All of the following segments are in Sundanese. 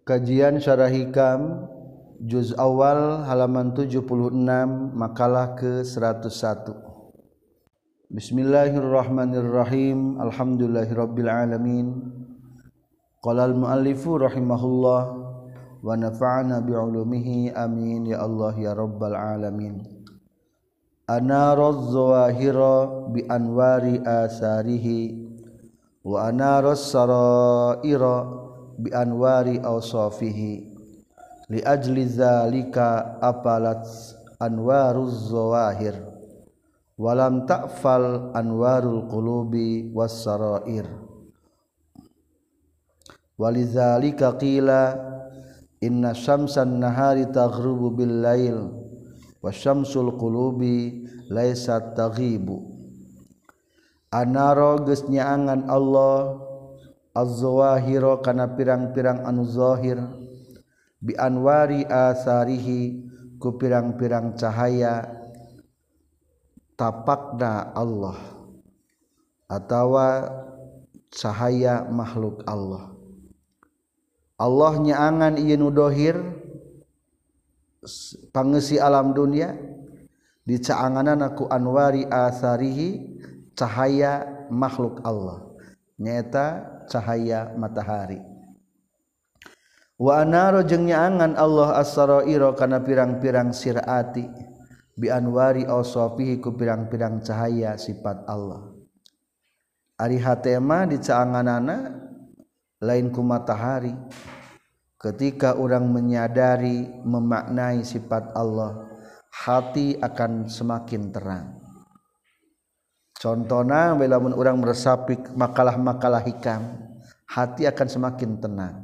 Kajian Syarah Hikam Juz Awal halaman 76 makalah ke-101. Bismillahirrahmanirrahim. Alhamdulillahirabbil alamin. Qala al-muallifu rahimahullah wa nafa'ana bi'ulumihi amin ya Allah ya rabbal alamin. Anaraz zawahira bi anwari asarihi wa anaras saraira bi anwari awsafihi li ajli zalika apalat anwaruz zawahir walam ta'fal anwarul qulubi was sarair walizalika qila inna syamsan nahari taghrubu bil lail wasyamsul qulubi laysat taghibu. Anaro geus nyaangan Allah az-zawahira kana pirang-pirang anu zahir bi anwari asarihi ku pirang-pirang cahaya tapakna Allah atawa cahaya makhluk Allah. Allah nyaangan ieu nu dohir pangeusi alam dunia dicaanganana ku anwari asarihi cahaya makhluk Allah nyaeta cahaya matahari. Wa anaro jeung nyaangan Allah as-saraira kana pirang-pirang sirati bi anwari awsafihi ku pirang-pirang cahaya sifat Allah. Ari hate mah dicaanganana lain ku matahari. Ketika orang menyadari memaknai sifat Allah, hati akan semakin terang. Contohna lamun urang meresapi makalah-makalah hikam, hati akan semakin tenang.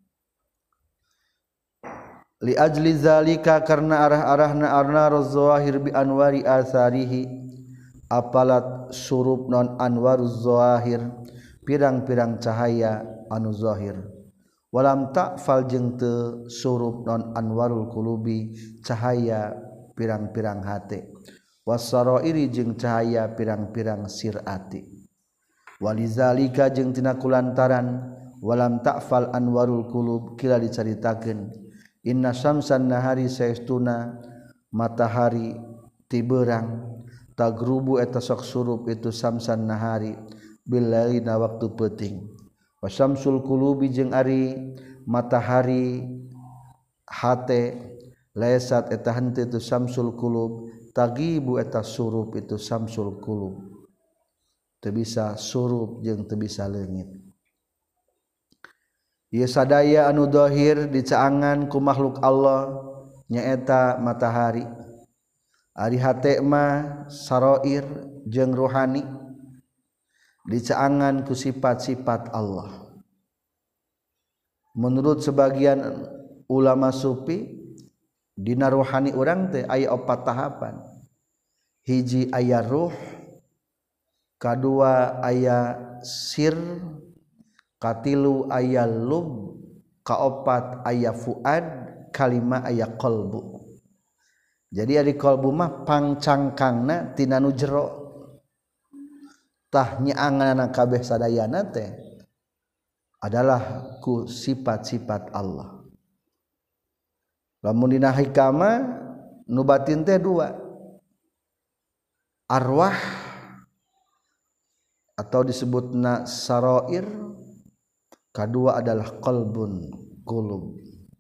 Li ajli zalika karena arah-arahna arnaruz zawahir bi anwari asarihi apalat surup non anwaruz zawahir pirang-pirang cahaya anu zahir. Walam ta'fal jeung teu surup non anwarul qulubi cahaya pirang-pirang hate. Wasarairi jeung cahaya pirang-pirang sirati. Walizalika jeung tina kulantaran walam ta'fal anwarul qulub kila dicaritakeun inna syamsan nahari saestuna matahari tibeurang tagrubu eta sok surup itu samsan nahari bil lailina waktu peuting wasyamsul qulubi jeung ari matahari hate laisat eta henteu itu samsul qulub tagibu eta surup itu samsul qulub teu bisa surup jeung teu bisa leungit. Ieu sadaya anu zahir dicaangan ku makhluk Allah nyaeta matahari. Ari hate mah sarair jeung rohani dicaangan ku sifat-sifat Allah. Menurut sebagian ulama sufi dina rohani urang teh aya 4 tahapan. Hiji aya ruh, kadua aya sir, katilu aya lub, kaopat aya fuad, kalima aya qalbu. Jadi ari qalbu mah pangcangkangna tina nu jero. Tah nyaanganna kabeh sadayana teh adalah ku sifat-sifat Allah. Lamun dina hikama nu batin teh 2. Arwah atau disebutna sarair, kedua adalah qalbun qulub.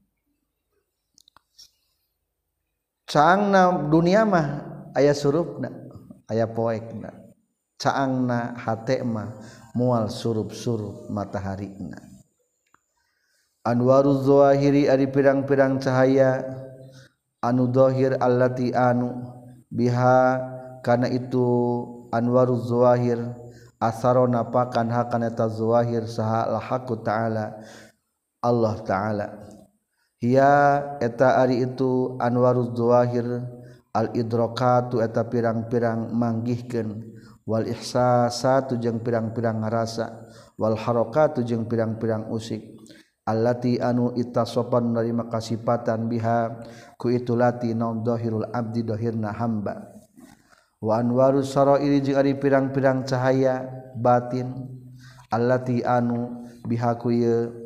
Caangna dunia mah aya surupna, aya poekna. Caangna hate mah moal surup-surup mataharina. Anwaruz zawahiri ari pirang-pirang cahaya anu zahir allati anu biha kana itu anwaruz zawahir asarona pakan hakan eta zawahir saha al-haqqu ta'ala Allah ta'ala. Hiya eta ari itu anwaruz zawahir al-idrakatu eta pirang-pirang manggihkeun wal ihsasatu jeung pirang-pirang ngarasa wal harakatu jeung pirang-pirang usik allati anu itasopan narima kasifatan biha ku itu lati naum dhahirul abdi dhahirna hamba wa anwarus sarairi jeung ari pirang-pirang cahaya batin allati anu biha ku ye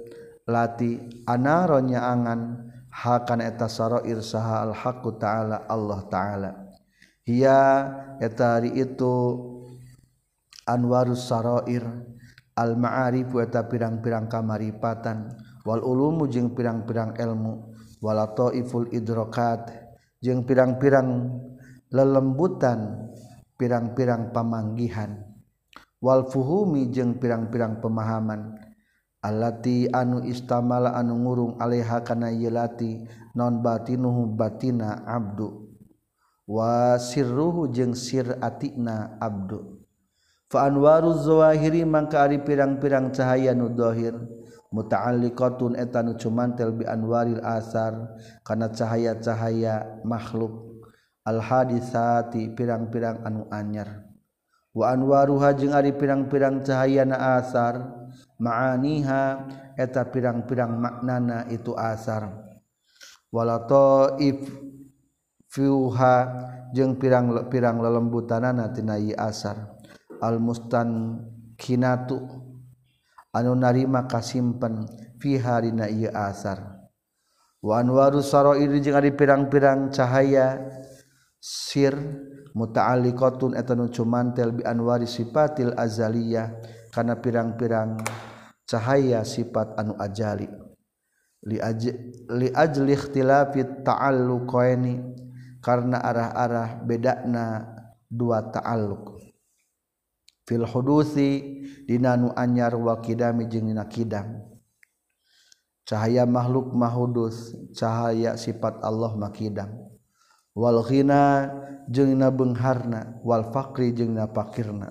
lati anaronya angan hakan eta sarair saha al-haqqu ta'ala Allah ta'ala hiya eta ari itu anwarus sarair al-ma'arif eta pirang-pirang kamaripatan wal ulumu jeung pirang-pirang ilmu wal taiful idrakat jeung pirang-pirang lelembutan pirang-pirang pamanggihan wal fuhumi jeung pirang-pirang pemahaman allati anu istamala anu ngurung alaiha kana yelati non batinuhu batina abdu wa sirruhu jeung sir atina abdu fa anwaruz zawahiri mangka ari pirang-pirang cahaya nu zahir muta'alliqatun eta nu cumantel bi anwaril asar kana cahaya-cahaya makhluk al hadisati pirang-pirang anu anyar wa anwaruha jeung ari pirang-pirang cahayana asar ma'aniha eta pirang-pirang maknana itu asar wala taif fiuha jeung pirang-pirang lelembutanana tina ieu asar al mustankinatu anu narima kasimpen fi harina ieu asar wa anwarus sarair jeung ari pirang-pirang cahaya sir muta'alliqatun eta nu cumantel bi anwari sifatil azaliyah kana pirang-pirang cahaya sifat anu ajali li ajli ikhtilafit ta'alluqaini karna arah-arah bedana dua ta'alluq fil hudusi dina nu anyar wa qidami jeung dina qidam cahaya makhluk mahudus cahaya sifat Allah makidam wal ghina jeung na beungharna wal faqri jeung na fakirna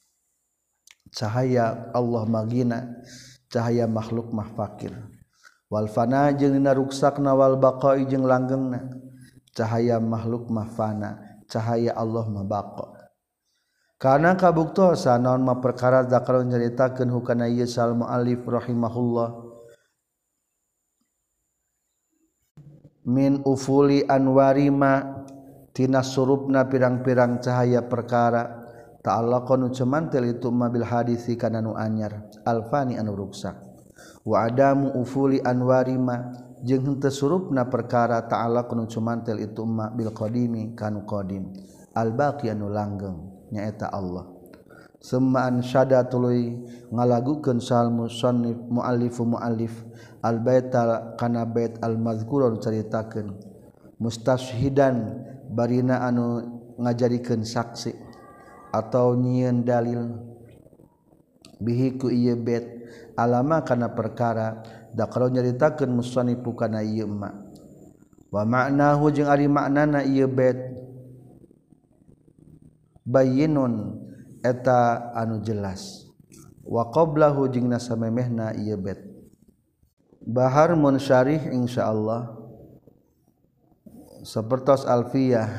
cahaya Allah magina cahaya makhluk mah fakir wal fana jeung na ruksakna wal baqai jeung langgengna cahaya makhluk mah fana cahaya Allah mah baqa kana kabuktosan naon mah perkara zakar nyaritakeun hukana ieu sal muallif rahimahullah min ufuli anwarima tina surupna pirang-pirang cahaya perkara ta'allaqan nu cumantel itu mabil hadisi kana nu anyar alfani anu ruksak wa adamu ufuli anwarima jeung henteu surupna perkara ta'allaqan nu cumantel itu bil qadimi kanu qadim al baqi anu langgeng nyaeta Allah summa ansyada tuluy ngalagukeun sal musannif muallif al baita kana bait al mazkurun caritakeun mustashhidan barina anu ngajarikeun saksi atau nyieun dalil bihi ku ieu bait alama kana perkara dakaro nyaritakeun musannifu kana ieu ma wa ma'nahu jeung ari maknana ieu bait bayyinun eta anu jelas wa qablahu jeung nasamemehna ieu bait bahar munsyarih insyaallah sapertos alfiyah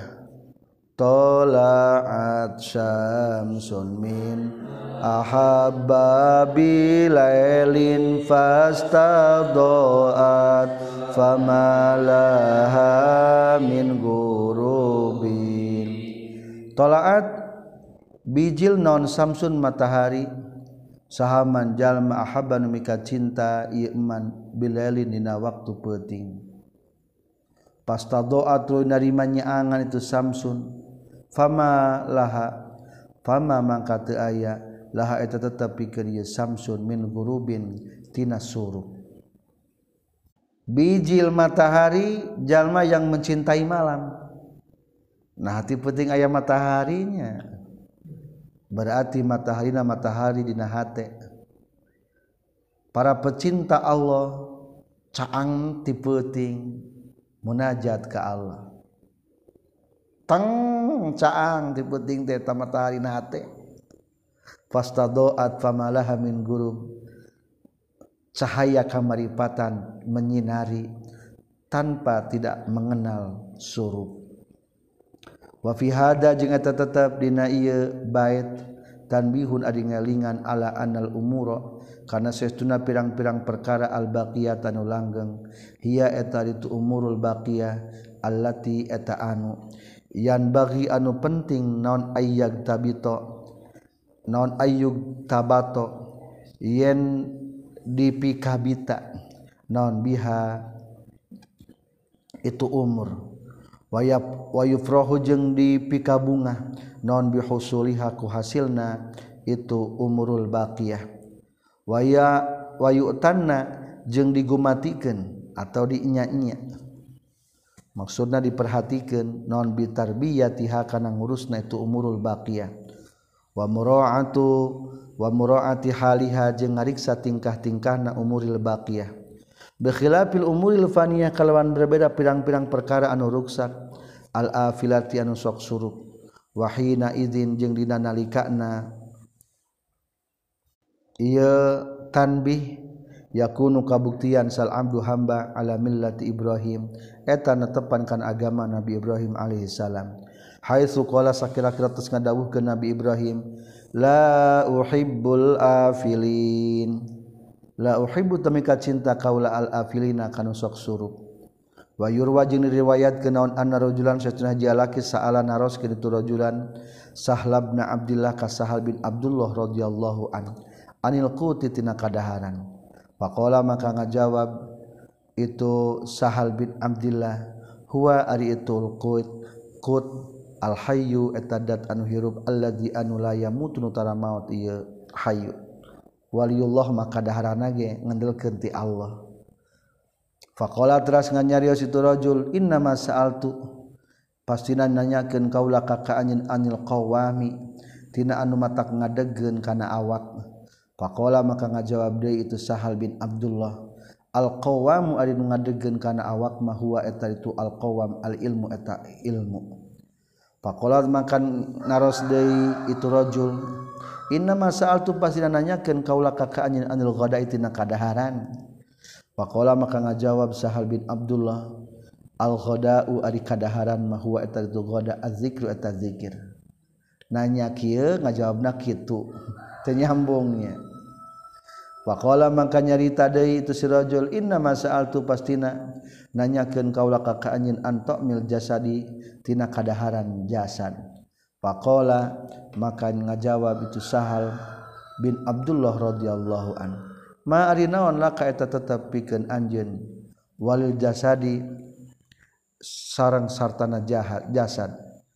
tala'at syamsun min ahabba bilailin fastadoat famalaha min gurubin tala'at bijil non samsun matahari sahaman jalma ahabba nu mika cinta ieu iman bilailin dina waktu peuting pastadoat tuluy narimanya angan itu samsun fama mangka teu aya laha eta tetep pikeun ieu samsun min gurubin tina surup bijil matahari jalma yang mencintai malam nah hati penting aya mataharinya berarti mataharina matahari dina hate para pecinta Allah caang ti peuting munajat ka Allah tang caang ti peuting teh ta matahari na hate fastadoat famalaha min gurub cahaya kamaripatan menyinari tanpa tidak mengenal surup wa fi hada jeung eta tetep dina ieu bait tanbihun ari ngalingan ala anal umura kana saestuna pirang-pirang perkara al baqiyah anu langgeng hiya eta itu umurul baqiyah allati eta anu yan bagi anu penting naon ayyag tabito naon ayyug tabato yen dipikabita naon biha itu umur wa yufrahu jeung dipika bunga naon bihusuliha ku hasilna itu umurul baqiyah wa yu'tanna jeung digumatikeun atau dinya-nya maksudna diperhatikeun naon bitarbiyatiha kana ngurusna itu umurul baqiyah wa mura'ati haliha jeung ngariksa tingkah-tingkahna umuril baqiyah bi khilafil umuril faniyah kalawan berbeda pirang-pirang perkara anu ruksak al afilati anu sok surup wa hina idzin jeung dina nalikana ieu tanbih yakunu kabuktian sal abdu hamba ala millati Ibrahim eta netepan kan agama Nabi Ibrahim alaihi salam haitsu qala sakira-kira tos ngadawuhkeun Nabi Ibrahim la uhibbul afilin la uhibbu tamika cinta kaula al afilina kanu sok surup wa yurwa jeung riwayatkeun naon anna rajulan satuna jalaki sa'ala naroskeun itu rajulan Sahlab bin Abdullah ka Sahal bin Abdullah radhiyallahu anil quti tina kadaharan faqala maka ngajawab itu Sahal bin Abdullah huwa ari itul qut al hayyu etadat anu hirup alladzi anu la yamutu tara maut ieu hayyu waliyullah maka daharana ge ngandelkeun ti Allah faqala teras nganyarios itu rajul inna ma sa'altu pastina nanyakeun kaula ka anil qawami tina anu matak ngadegkeun kana awak faqala maka ngajawab deui itu Sahal bin Abdullah al qawamu ari nu ngadegkeun kana awak mah huwa eta itu al qawam al ilmu eta ilmu faqala maka naros deui itu rajul inna ma sa'altu pasina nanyakeun kaula ka anil ghada'i tina kadaharan faqala maka ngajawab Sahal bin Abdullah al ghada'u ari kadaharan mah huwa eta itu ghada az-zikru eta zikir nanya kieu ngajawabna kitu teu nyambungnya faqala maka nyarita deui itu si rajul inna ma sa'altu pastina nanyakeun kaula ka anjeun antamil jasadi tina kadaharan jasad faqala maka ngajawab itu Sahal bin Abdullah radhiyallahu an ma ari naon laka eta tetep pikeun anjeun walil jasadi sareng sartana jasad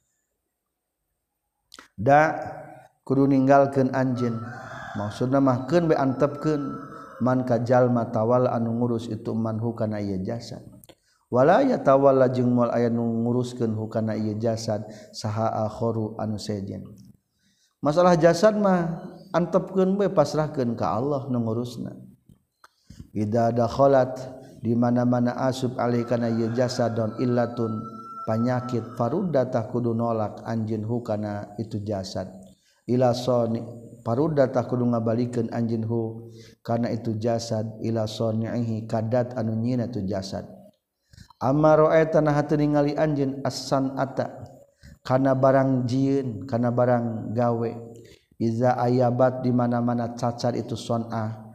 da kudu ninggalkeun anjeun maksudna mah keun be antepkeun man ka jalma tawalla anu ngurus itu manhu kana ieu jasad wala yatawalla jeung moal aya nu nguruskeun hukana ieu jasad saha akharu anu sejen masalah jasad mah antepkeun we pasrahkeun ka Allah nu ngurusna idza dakhalat di mana-mana asub alih kana ieu jasadon illatun panyakit faruddatah kudu nolak anjeun hukana itu jasad ila soni paruddatah kudu ngabalikeun anjeun hu kana itu jasad ila sonihi kadat anu nyieuna itu jasad amaro eta nah teu ningali anjeun as-sanata kana barang jieun kana barang gawe iza ayabat di mana-mana cacat itu sonah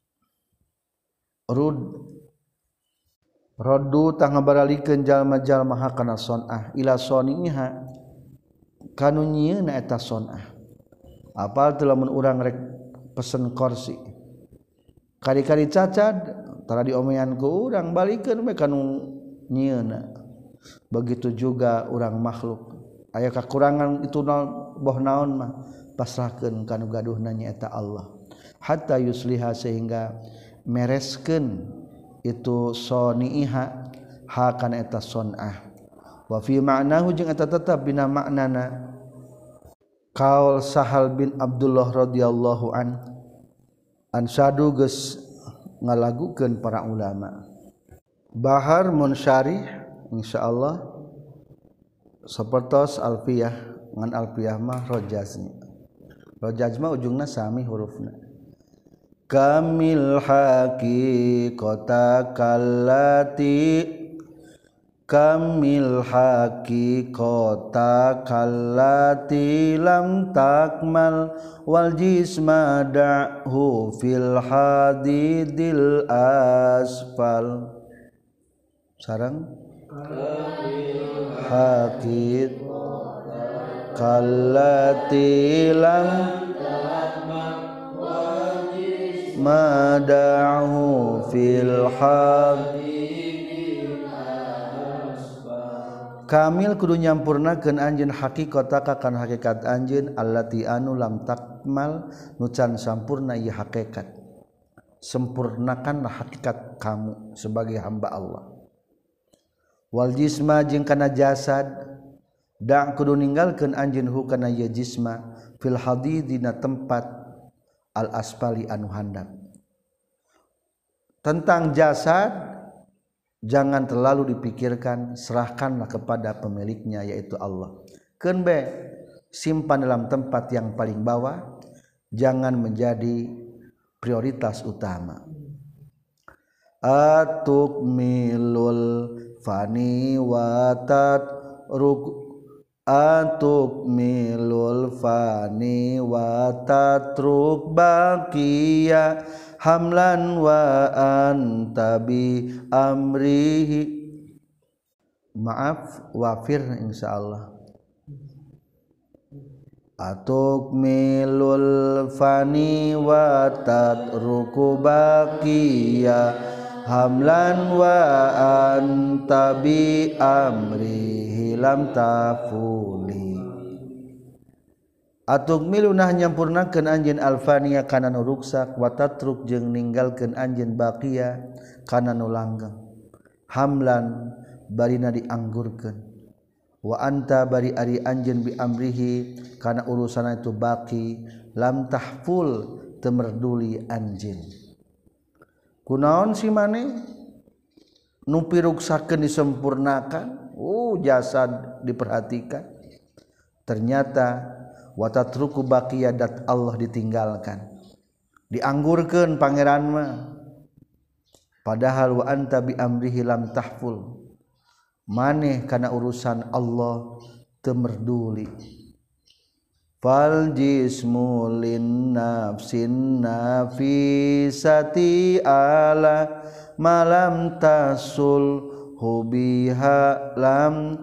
roddu tah ngabaralikeun jalma-jalma hakana sonah ila soniha kanu nyieuna eta sonah apal teu lamun urang rek pesen kursi kari-kari cacat tara diomean ku urang balikeun we kanu nyieuna begitu juga urang makhluk aya kakurangan itu boh naon mah pasrahkeun kanu gaduhna nyaeta Allah hatta yusliha sehingga mereskeun itu soniha hakan eta sonah wa fi ma'nahu jeung eta tetep dina maknana qaul Sahal bin Abdullah radhiyallahu an sadu geus ngalagukeun para ulama Bahar Munsyarih insyaallah sapertos alfiyah ngan alfiyah mah rojaznya rojaz mah ujungna sami hurufna kamil haqiqata kallati kamil haqiqata kallati lam takmal wal jisma da'hu fil hadidil asfal sarang haqid kallati lam mada'hu fil kamil kudu nyampurnakeun anjeun haqiqataka kana hakikat anjeun allati anu lam takmal nucan sampurna ieu hakikat sempurnakanlah hakikat kamu sebagai hamba Allah wal jisma jeung kana jasad da kudu ninggalkeun anjeun hu kana ieu jisma fil hadid dina tempat al asfali anu handap tentang jasad jangan terlalu dipikirkan, serahkanlah kepada pemiliknya yaitu Allah. Keun be simpan dalam tempat yang paling bawah, jangan menjadi prioritas utama. Atukmilul fani wa tatruk baqiya hamlan wa antabi amrihi maaf wafir insyaallah atukmilul fani wa tatruku baqiya hamlan wa antabi amrihi lam tafuli atuk milunah nyampurnakeun anjeun alfania kana nu ruksak wa tatruk jeung ninggalkeun anjeun baqiya kana nu langgeng hamlan barina dianggurkeun wa anta bari ari anjeun bi amrihi kana urusana itu baqi lam tahful teu merduli anjeun kunaon si maneh nu piruksakeun disempurnakan jasad diperhatikan ternyata watatruku baqiyadat Allah ditinggalkan dianggurkeun pangeran mah padahal wa anta bi amrihi lam tahful maneh kana urusan Allah teu merduli fal jismu lin nafsin nafisati ala malam tasul hubiha lam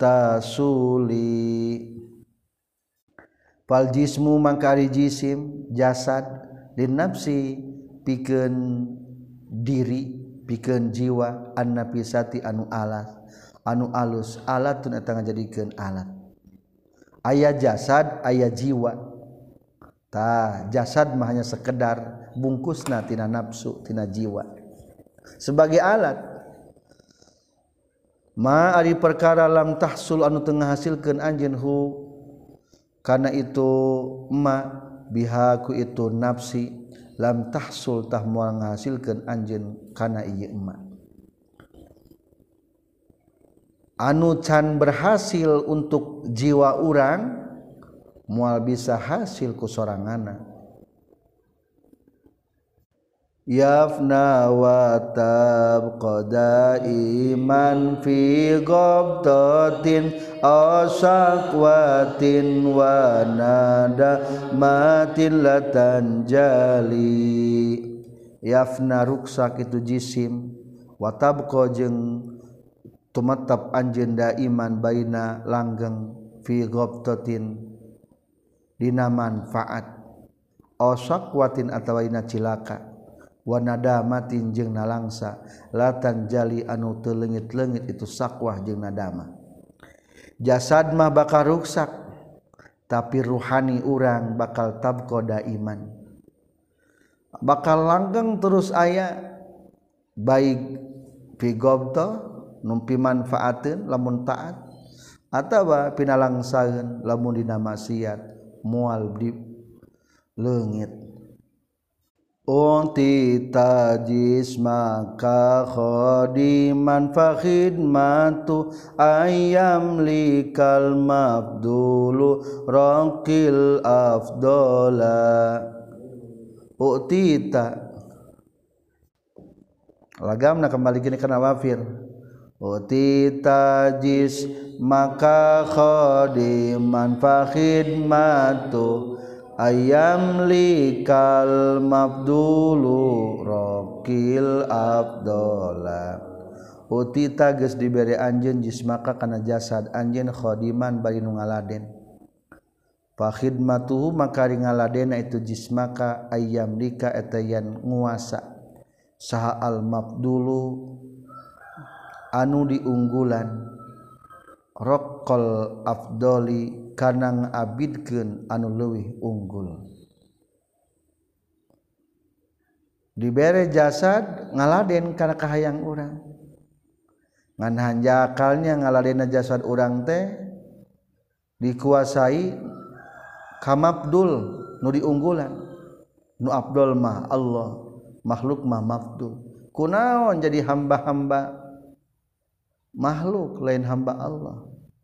tasuli fal jismu mangkari jisim jasad lin nafsi pikeun diri pikeun jiwa an nafisati anu alat anu alus alatun eta ngajadikeun alat aya jasad aya jiwa tah jasad mah hanya sekedar bungkusna tina nafsu tina jiwa sebagai alat ma ari perkara lam tahsul anu teu ngahasilkeun anjeun hu kana itu ma biha ku itu nafsi lam tahsul tah moal ngahasilkeun anjeun kana ieu ma anu can berhasil untuk jiwa urang moal bisa hasil ku soranganna yafna wa tabqa daiman fi ghabtatin asaqwatin wa nadamatin latanjali yafna ruksak itu jisim wa tabqa jeung tumatap anjeun daiman baina langgeng fi ghabtatin dina manfaat asaqwatin atawa dina cilaka wa nadamatin jeung nalangsa latan jali anu teu leungit-leungit itu sakwah jeung nadama jasad mah bakal ruksak tapi ruhani urang bakal tabqa daiman bakal langgeng terus aya baik fi ghabta numpi manfaateun lamun taat atawa pinalangsaeun lamun dina maksiat moal di leungit unti tajis maka khodiman fakhidmatu ayam likal mabdulu raqil afdola utita lagamna kembali gini kana wafir utita jis maka khodiman fakhidmatu ayam likal mabdulu raqil abdola utita geus dibere anjeun jismaka kana jasad anjeun khodiman bari nu ngaladen fa khidmatuhu maka ri ngaladena itu jismaka ayam lika eta yan nguasa saha al mafdulu anu diunggulan roqqal afdoli kana ngabidkeun anu leuwih unggul. Dibere jasad ngaladen kana kahayang urang ngan hanjakalnya ngaladenna jasad urang teh dikuasai kamabdul nu diunggulan nu afdol mah Allah makhluk mah mafdul kunaon jadi hamba-hamba makhluk lain hamba Allah.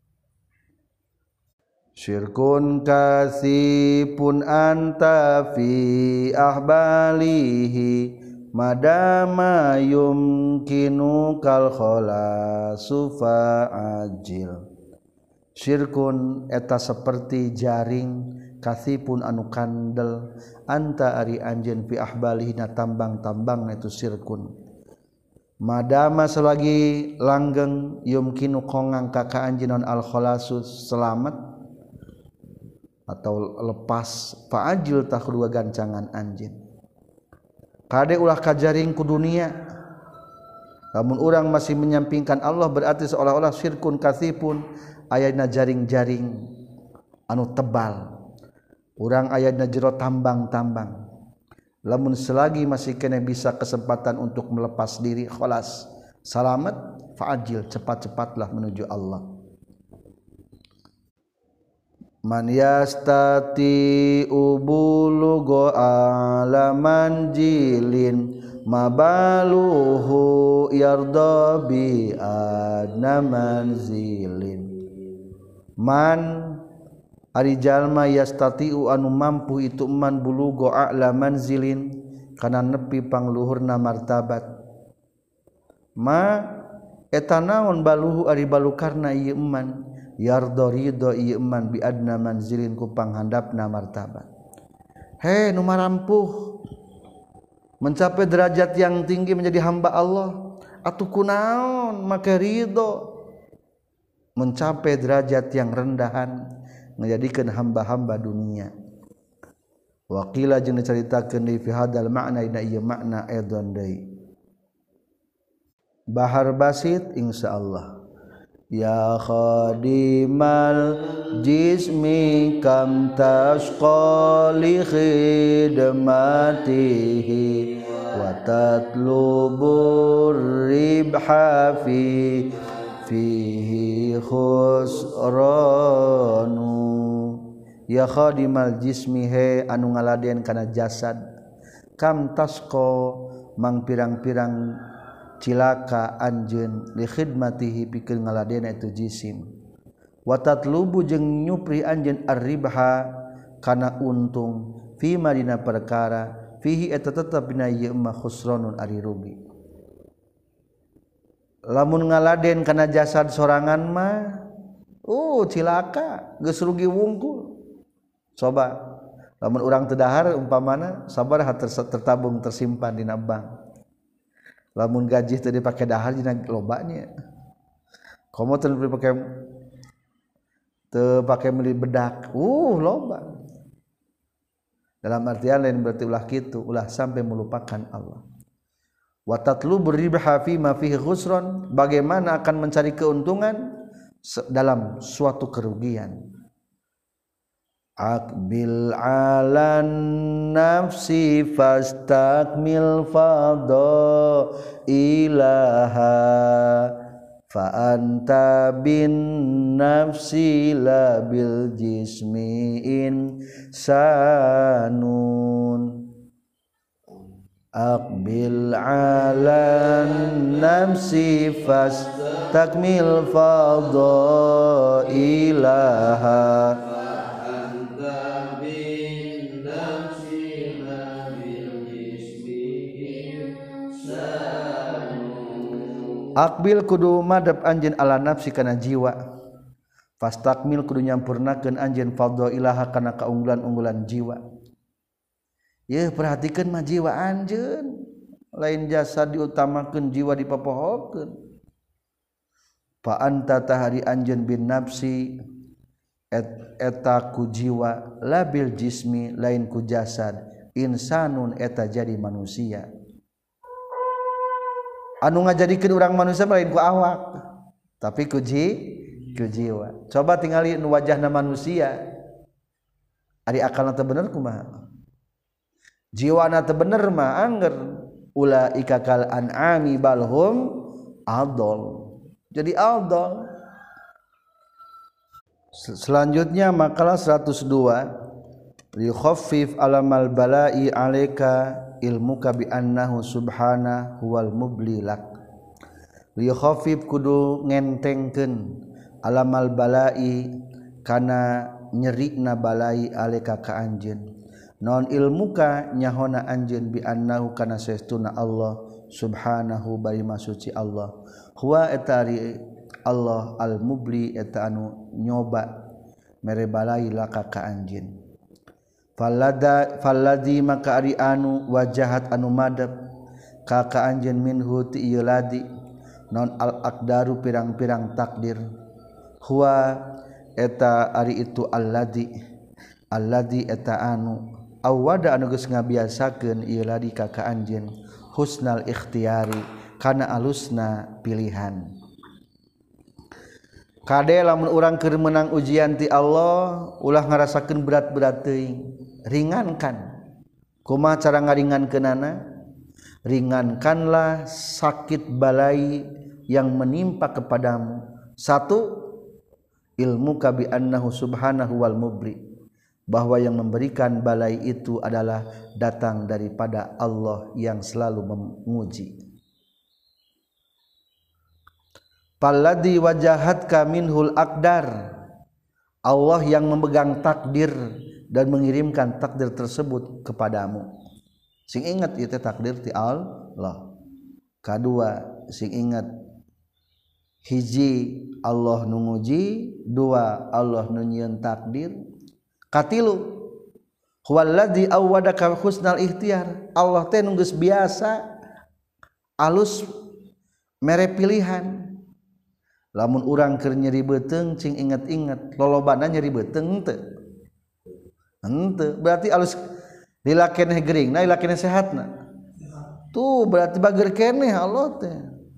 Syirkun kasipun anta fi ahbalihi madama yumkinu kal khalasu fa'ajil. Syirkun eta seperti jaring kasipun anu kandel anta ari anjeun fi ahbalihi na tambang-tambang itu syirkun. Madama selagi langgeng yumkinu kongang ka anjeun al khalasu selamat atau lepas fa'ajil tak kedua gancangan anjeun kade ulah kajaring ku dunia lamun urang masih menyampingkan Allah berarti seolah-olah syirkun kasipun ayana jaring-jaring anu tebal urang ayana jero tambang-tambang lamun selagi masih kena bisa kesempatan untuk melepas diri khalas salamat fa'ajil cepat-cepatlah menuju Allah. Man yastati ubulugo alaman jilin mabaluhu yarda bi adna manzilin. Man ari jalma yastati'u anu mampu itu man bulugo a'laman zilin kana nepi pangluhurna martabat. Ma eta naon baluhu ari balukarna ieu man yardo ridho ieu man bi adna manzilin ku panghandapna martabat. He nu marampuh mencapai derajat yang tinggi menjadi hamba Allah atuh kunaon make ridho mencapai derajat yang rendahan menjadikan hamba-hamba dunia. Waqila jeung dicaritakeun di fi hadal ma'na ina ieu makna edon deui. Bahar basit insyaallah. Ya khadimal jismi kam tashqa li khidmatihi wa tatlubur ribha fihi khusranu. Ya khadimal jismi he anu ngaladen kana jasad kam tashqa mang pirang-pirang cilaka anjeun li khidmatihi pikeun ngaladena itu jisim wa tatlubu jeung nyupri anjeun ar-ribha kana untung fi madina perkara fihi eta tetep dina ieu mah khusranun ari rugi. Lamun ngaladen kana jasad sorangan mah cilaka geus rugi wungkul. Coba lamun urang teu dahar umpamana sabaraha tertabung tersimpan dina bank. Lamun gaji teu dipake dahar dina lobanya. Komo teu dipake meuli bedak. Loba. Dalam artian lain berarti ulah kitu, ulah sampai melupakan Allah. Wa tatlubur ribha fi ma fihi khusran, bagaimana akan mencari keuntungan dalam suatu kerugian. Aqbil alan nafsi fastakmil fadha ilaha fa anta bin nafsi la bil jismi insanun. Aqbil alan nafsi fastakmil fadha ilaha Akbil kudu madep anjeun ala nafsi kana jiwa. Fastakmil kudu nyampurnakeun anjeun fadha ilaha kana kaunggulan-unggulan jiwa. Ye perhatikeun mah jiwa anjeun, lain jasad diutamakeun jiwa dipopohokeun. Fa anta tahari anjeun bin nafsi eta ku jiwa labil jismi lain ku jasad insanun eta jadi manusia. anu ngajadikeun urang manusia lain ku awak tapi ku jiwa coba tingali nu wajahna manusia ari akalna teu bener kumaha jiwana teu bener mah angger ulaika kal an'ami balhum adol jadi adol. Selanjutnya makalah 102 likhaffif alamal bala'i alaika ilmuka bi annahu subhanahu wal mublilak likhaffif kudu ngentengkeun alamal bala'i kana nyerina balai alaika ka anjeun non ilmuka nyahona anjeun bi annahu kana saestuna Allah subhanahu bari masuci Allah huwa etari Allah al-mubli eta anu nyoba mere balai laka ka anjeun falladzi maka ari anu wajahat anu madep ka anjeun minhu ti ieu ladi non al-aqdaru pirang-pirang takdir huwa eta ari itu alladzi eta anu awada anu geus ngabiasakeun ieu ladi ka anjeun husnal ikhtiyari kana alusna pilihan. Kade lamun urang keur menang ujian ti Allah ulah ngarasakeun berat-berat teuing ringankan kumaha cara ngaringankeunana ringankanlah sakit balai yang menimpa kepadamu satu ilmu ka bi annahu subhanahu wal mubli bahwa yang memberikan balai itu adalah datang daripada Allah yang selalu menguji. Palladzi wajahatka minhul aqdar Allah yang memegang takdir dan mengirimkan takdir tersebut kepadamu sing ingat ieu teh takdir ti Allah kadua sing ingat hiji Allah nu nguji dua Allah nu nyieun takdir katilu huwallazi awwadaka husnal ikhtiyar Allah teh nu geus biasa alus mere pilihan. Lamun urang keur nyeri beuteung cing inget-inget lolobana nyeri beuteung teu henteu berarti alus lila keneh geuringna lila keneh sehatna tuh berarti bager keneh Allah teh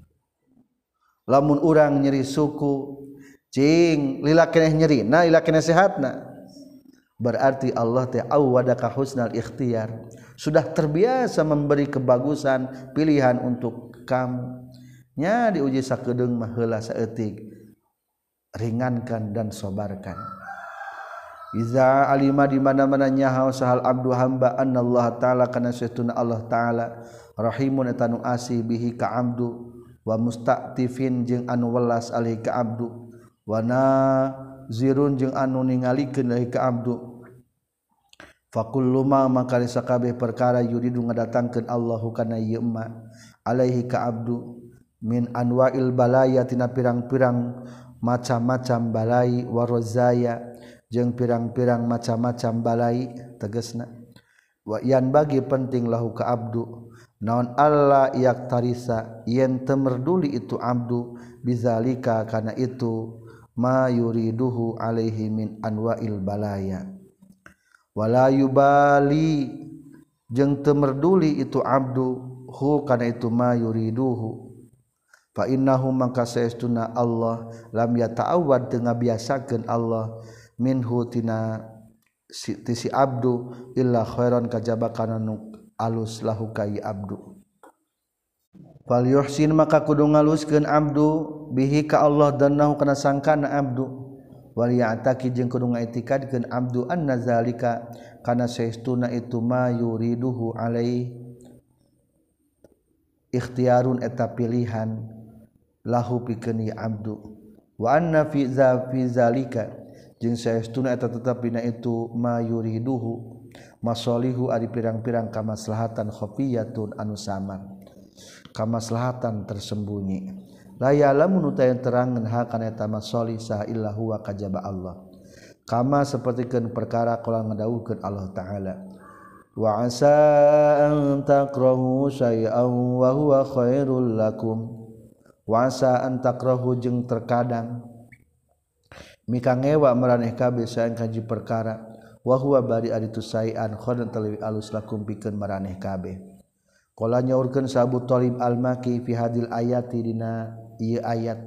lamun urang nyeri suku cing lila keneh nyerina lila keneh sehatna berarti Allah teh awwadaka husnal ikhtiyar sudah terbiasa memberi kebagusan pilihan untuk kamu nya diuji sakedeung mah heula saeutik ringankan dan sabarkan iza alima di mana-mana nyaho sahal abdu hamba anallahu taala kana saestuna Allah taala rahimun eta nu asih bihi ka abdu wa mustaqtifin jeung anu welas alaihi ka abdu wa nazirun jeung anu ningalikeun alaihi ka abdu fakullu ma maka sakabeh perkara yuridu ngadatangkeun Allahu kana ieu ma alaihi ka abdu min anwa'il balaya tina pirang-pirang macam-macam balai warozaya jeung pirang-pirang macam-macam balai tegasna wa yan bagi penting lahu ka abdu naon alla yaktarisa yen teu merduli itu abdu bizalika kana itu ma yuriduhu alaihi min anwa'il balaya wala yubali jeung teu merduli itu abdu hu kana itu ma yuriduhu fa innahu maka saestuna Allah lam yata'awwad teu ngabiasakeun Allah minhu tina si abdu illa khairan kajaba kana nu alus lahu kai abdu fal yuhsin maka kudu ngaluskeun abdu bihi ka Allah dan nahu kana sangkana abdu wal ya'taqi jeung kudu ngaitikadkeun abdu anna zalika kana saestuna itu ma yuriduhu alai ikhtiyarun eta pilihan lahu pikeun abdu wa anna fi zalika jeung saestuna eta tetep dina itu ma yuriduhu masalihu ari pirang-pirang kamaslahatan khafiyatun anu samar kamaslahatan tersembunyi la ya'lamu nutayan terangeun ha kana eta masalih saha illa huwa kajaba Allah kama sapertikeun perkara qala ngadawuhkeun Allah taala wa asa an takrahu syai'an wa huwa khairul lakum wasa antakrahu jeung terkadang mika ngewa maraneh kabeh saeng kaji perkara wa huwa bari ari tu saean khairan talawi alus lakum pikeun maraneh kabeh qala nyaurkeun sa Abu Thalib al-Maki fi hadil ayati dina ieu ayat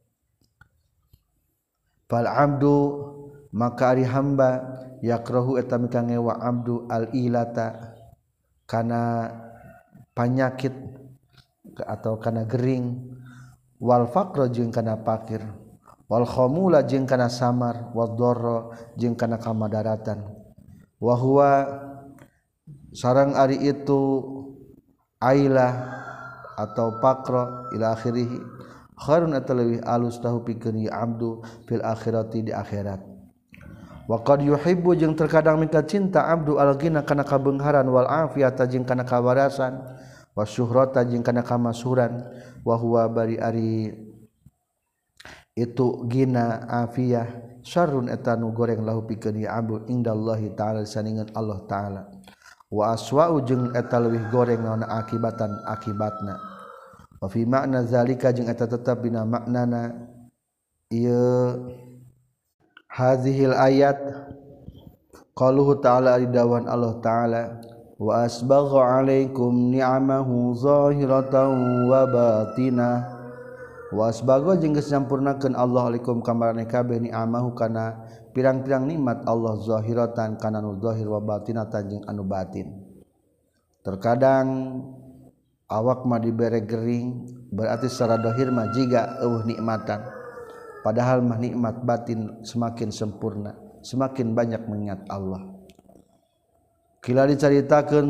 fal abdu maka ari hamba yakrahu eta mika ngewa abdu al ilata kana panyakit atau kana gering wal faqra jeung kana fakir wal khamula jeung kana samar wad darra jeung kana kamadaratan wa huwa sarang ari itu ailah atau faqra ila akhirih khairun atalwi alus tahu pikeun ya abdu fil akhirati di akhirat wa qad yuhibbu jeung terkadang minta cinta abdu al-ghina kana kabeungharan wal afiyata jeung kana kawarasan wasyuhrata jeung kana kamasyhuran wa huwa bari ari itu gina afiyah syarrun eta nu goreng lahu pikeun ya abdu indallahi taala saningan Allah taala wa aswa'u jeung eta leuwih goreng naon akibatan akibatna wa fi makna zalika jeung eta tetep dina maknana ieu hazihil ayat qaluhu ta'ala ridawan Allah taala wa asbagha 'alaikum ni'amahu zahiratan wa batinah wa asbagha jeung geus nyampurnakeun Allah alaikum ka maraneh kabeh ni'amahu kana pirang-pirang nikmat Allah zahiratan kana nu zahir wa batinatan jeung anu batin terkadang awak mah dibere gering berarti secara zahir mah jiga nikmatan padahal mah nikmat batin semakin sempurna semakin banyak mengingat Allah kila dicaritakeun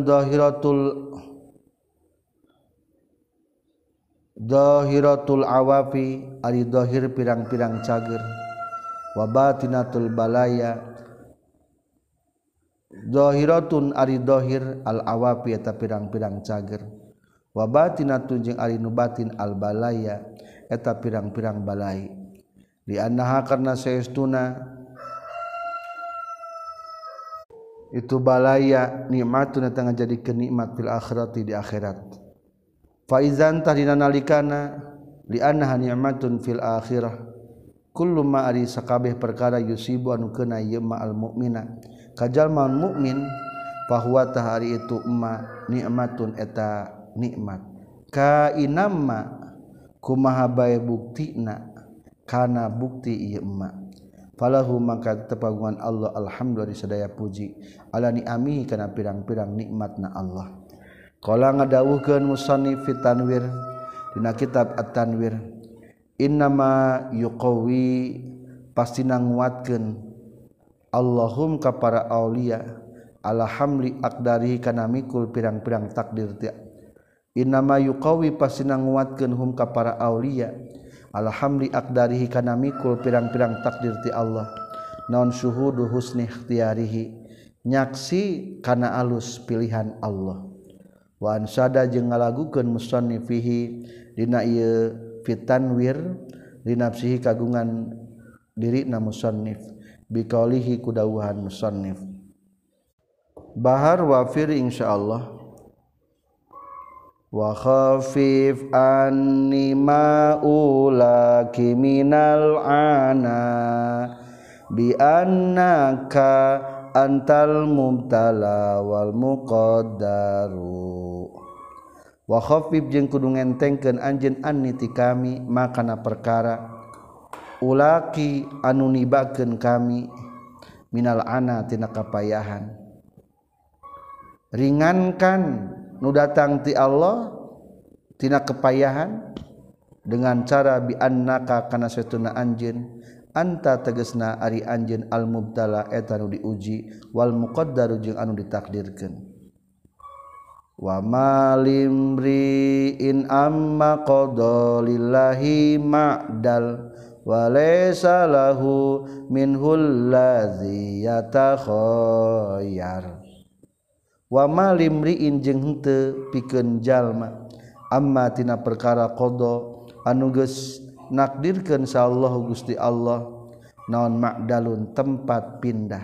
zahiratul awafi ari zahir pirang-pirang cager wa batinatul balaya zahiratun ari zahir al awafi eta pirang-pirang cager wa batinatun jeung ari nu batin al balaya eta pirang-pirang balai di annaha karna saestuna itu balaya nikmatun eta ngajadikeun nikmat fil akhirati di akhirat fa izan tadina nalikana li annaha nikmatun fil akhirah kullu ma ari sakabeh perkara yusibu anu keuna ieu ma al mukmina kajalma mukmin fahuwa tahari itu ma nikmatun eta nikmat ka inamma kumaha bae buktina kana bukti ieu ma falahu maka tepagungan Allah alhamdulillah sadaya puji ala ni'amihi kana pirang-pirang nikmatna Allah qala ngadawuhkeun musannif fi tanwir dina kitab at-tanwir innama yuqawi pastina nguatkeun Allahum ka para aulia ala hamli aqdarihi kana mikul pirang-pirang takdir teh innama yuqawi pastina nguatkeun hum ka para aulia ala hamli aqdarihi kana mikul pirang-pirang takdir ti Allah naon syuhudu husni ikhtiyarihi nyaksi kana alus pilihan Allah wa ansada jeung ngalagukeun musannifihi dina ieu fitanwir linafsihi kagungan dirina musannif biqaulihi kudawuhan musannif bahar wafir insyaallah wa khafif anni ma'ulaki minal ana bi annaka antal mubtala wal muqaddaru wa khafif jeung kudu ngentengkeun anjeun anni ti kami makana perkara ulaki anu nibakeun kami minal ana tina kapayahan ringankan nu datang ti Allah tina kepayahan dengan cara bi annaka kana satuna anjeun anta tegasna ari anjeun al mubtala eta nu diuji wal muqaddaru jeung anu ditakdirkeun wa malimri in amma qada lillahi ma'dal wa laysa lahu minhul ladzi yatakhayyar wa malimriin jeung henteu pikeun jalma amma tina perkara qada anu geus nakdirkeun sa Allah Gusti Allah naon ma'dalun tempat pindah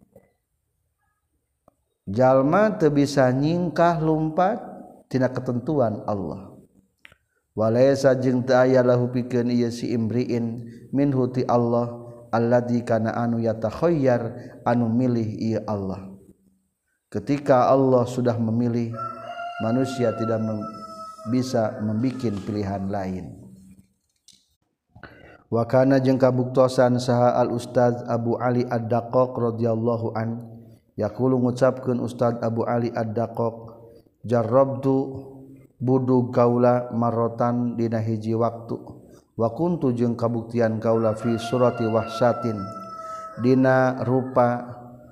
jalma teu bisa nyingkah lumpat tina ketentuan Allah walaysa jeung teu aya lahu pikeun ieu si imriin minhu ti Allah alladzi kana anu yatakhayyar anu milih ieu Allah ketika Allah sudah memilih manusia tidak bisa membikin pilihan lain. Wa kana jeung kabuktosan saha al Ustaz Abu Ali Ad-Daqqaq radhiyallahu an yaqulu ngucapkeun Ustaz Abu Ali Ad-Daqqaq jarrabtu budug kaula marotan dina hiji waktu wa kuntu jeung kabuktian kaula fi surati wahsyatin dina rupa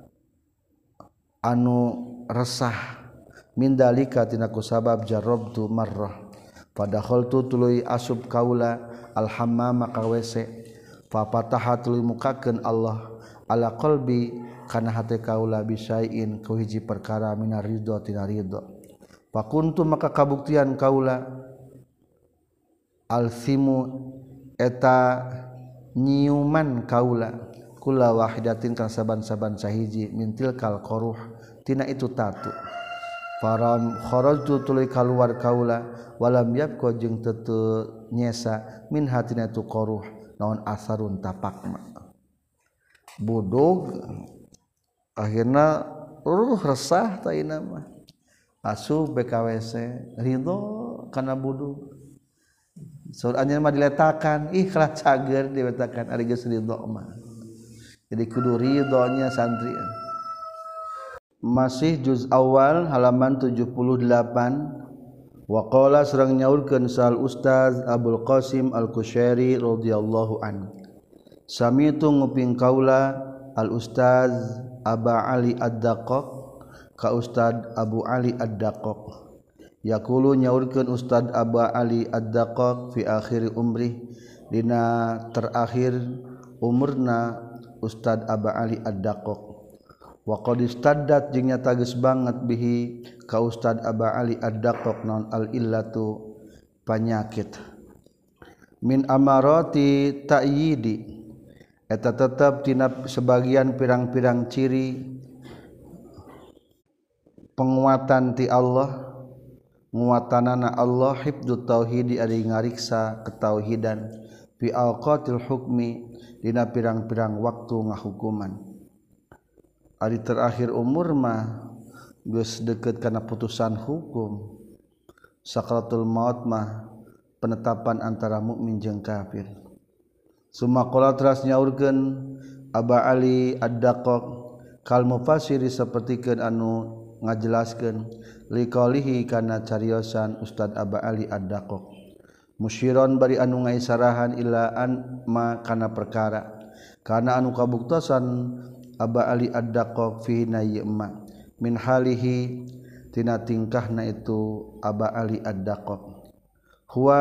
anu resah min dalika tina kusabab jarrabtu marrah padakhaltu tuluy asub kaula al hammam ka WC fa fataha tuluy mukakeun Allah ala qalbi kana hate kaula bisain ku hiji perkara minar ridho tina ridho fa kuntu maka kabuktian kaula alsimu eta nyiuman kaula kula wahidatin kan saban-saban sahiji mintil kal qaruh tina itu tatu faram kharajtu tuluy kaluar kaula walam yabqa jeung teu nyesa min hatina tu qaruh naon asarun tapakna budug akhirna resah ta ina mah asuh BKWC ridho kana budug soalnya mah diletakan ikhlas cager diletakan ari geus ridho mah jadi kudu ridhonya santri. Masih juz awal halaman 78 wa qala sareng nyaurkeun sal Ustaz Abdul Qasim Al-Kushairi radhiyallahu an samitu nguping kaula al Ustaz Aba Ali Ad-Daqqaq ka Ustaz Abu Ali Ad-Daqqaq yaqulu nyaurkeun Ustaz Aba Ali Ad-Daqqaq fi akhir umri dina terakhir umurna Ustaz Aba Ali Ad-Daqqaq wa qad istaddat jeung nyata geus banget bihi ka Ustaz Aba Ali Ad-Daqqaq naon al illatu panyakit min amarati ta'yidi eta tetep tina sebagian pirang-pirang ciri penguatan ti Allah nguatanana Allah hifdzut tauhid ari ngariksa ketauhidan fi awqatil hukmi dina pirang-pirang waktu ngahukuman hari terakhir umur mah geus deukeut kana putusan hukum sakaratul maut mah penetapan antara mukmin jeung kafir summa qala teras nyaurkeun Aba Ali Ad-Daqqaq kal mufassiri sapertikeun anu ngajelaskeun liqalihi kana cariosan Ustaz Aba Ali Ad-Daqqaq musyiron bari anu ngaisarahan ila an ma kana perkara kana anu kabuktosan Aba Ali Ad-Daqqaq fi nayyima min halihi tina tingkahna itu Aba Ali Ad-Daqqaq huwa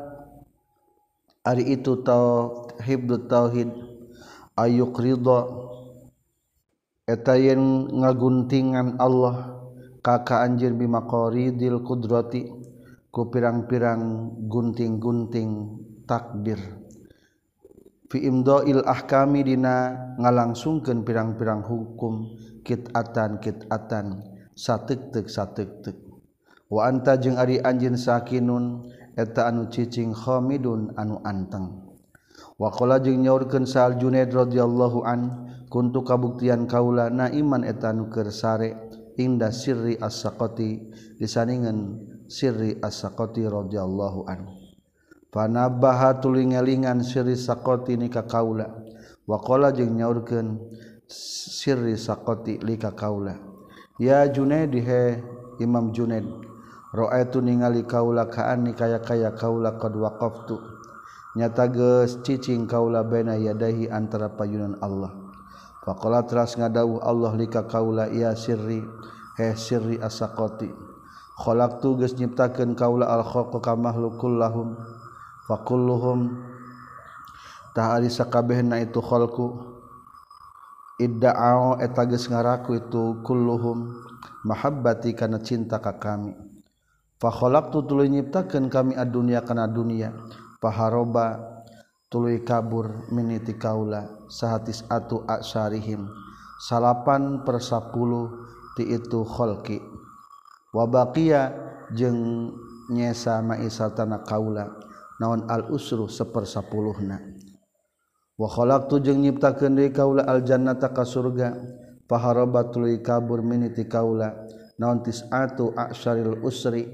ari itu hibdut tauhid ayuk ridha eta yen ngaguntingan Allah ka anjeun bimaqaridil qudrati ku pirang-pirang gunting-gunting takdir fi imdail ahkami dina ngalangsungkeun pirang-pirang hukum kitatan sateuk-teuk wa anta jeung ari anjeun sakinun eta anu cicing khamidun anu anteng wa qala jeung nyaurkeun Sa'al Junaid radhiyallahu an kuntu kabuktian kaula naiman eta anu keur sare inda sirri as-saqati disandingan sirri as-saqati radhiyallahu an panabbaha tuluy ngelingan sirri saqati ni ka kaula wa qala jeung nyaurkeun sirri saqati li ka kaula ya Junaid he Imam Junaid ra'aitu ningali kaula kaani kaya-kaya kaula qad waqaftu nyata geus cicing kaula baina yadahi antara payunan Allah faqala teras ngadawuh Allah li ka kaula ya sirri he sirri as-saqati khalaqtu geus nyiptakeun kaula al-khalqa ka makhlukul lahum fakulluhum tahari sakabehna itu khalqu idda'u eta geus ngaraku itu kulluhum mahabbati kana cinta ka kami fa khalaqtu tuluy nyiptakeun kami adunya kana dunya paharoba tuluy kabur miniti kaula sahatis atu asyarihim 8/10 ti itu khalqi wa baqiya jeung nyesa maisatana kaula naon al usru 1/10na wa khalaqtu jeung nyiptakeun deui kaula al jannata ka surga paharaba tuluy kabur miniti kaula naon tis'atu a'syaril usri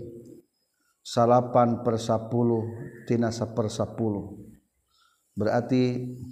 8/10 tina 1/10 berarti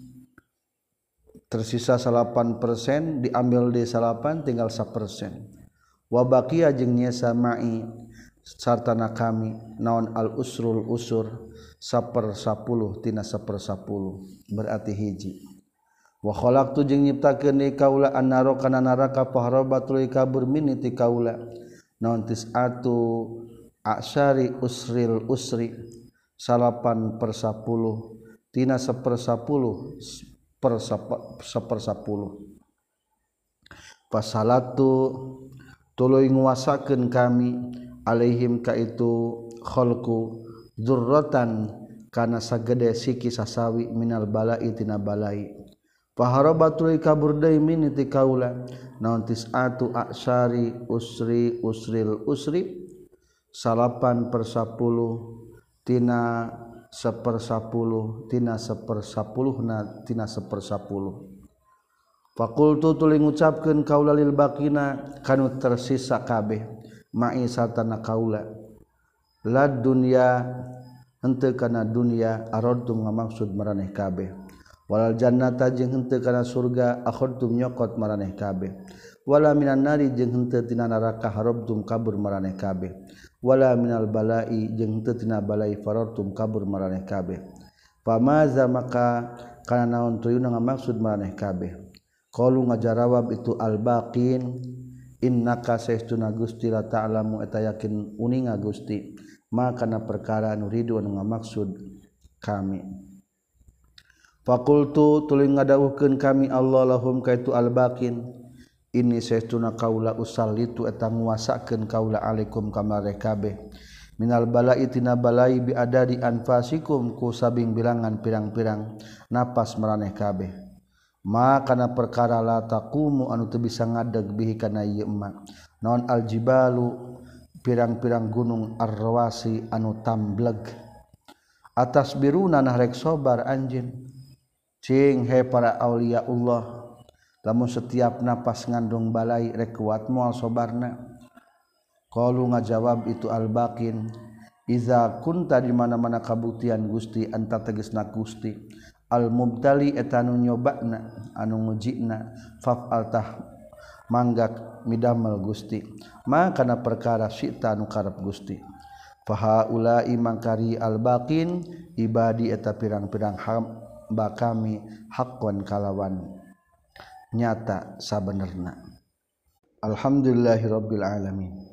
tersisa 8% diambil di 8 tinggal 1%. Wa baqiya jeung nyesa ma'i sartana kami naon al usrul usur 1/10 tina 1/10 berarti hiji. Wa khalaqtu jeung nyiptakeun ni kaula annaro kana neraka faharabatul kabur min ti kaula naon tis'atu a'syari usril usri 8/10 tina 1/10 per 1/10 pasalatu tuluy nguasakeun kami alaihim ka itu khalqu dzurratan kana sagede siki sasawi minal balai tina balai faharabatul kabur deui min ti kaula naon tis'atu a'syari usri usril usri 8/10 tina 1/10 tina 1/10 tina 1/10 Fakultu tuluy ngucapkeun kaula lil baqina kanu tersisa kabeh ma'i satana kaula lad dunya henteu kana dunya aradtum ngamaksud maraneh kabeh walal jannata jeung henteu kana surga akhadtum nyokot maraneh kabeh wala minan nari jeung henteu tina neraka harabtum kabur maraneh kabeh wala minal balai jeung henteu tina balai farartum kabur maraneh kabeh pamaza maka kana naon tuyuna ngamaksud maraneh kabeh qalu ngajarawab itu al-baqin innaka saestuna Gusti la ta'lamu eta yakin uninga Gusti maka na perkara anu ridu anu ngamaksud kami faqultu tuluy ngadawuhkeun kami Allah lahum kaitu al-baqin inni saestuna kaula usallitu eta nguasakeun kaula alaikum kamareh kabeh minal balai tina balai bi adadi anfasikum ku sabing bilangan pirang-pirang napas maraneh kabeh maka na perkara la taqumu anu teu bisa ngadeg bihi kana ieu emma naon aljibalu pirang-pirang gunung arrawasi anu tambleg atas biruna nah rek sabar anjeun cing he para aulia Allah lamun setiap napas ngandung balai rek kuat moal sabarna qalu ngajawab itu albaqin iza kunta di mana-mana kabuktian Gusti anta tegasna Gusti al mubtali etanu nyobana anu ngujina fa'al tah manggak midamel Gusti maka na perkara sita anu karep Gusti fa ulai mangkari al baqin ibadi eta pirang-pirang hamba kami haqqan kalawan nyata sabenerna alhamdulillahirabbil alamin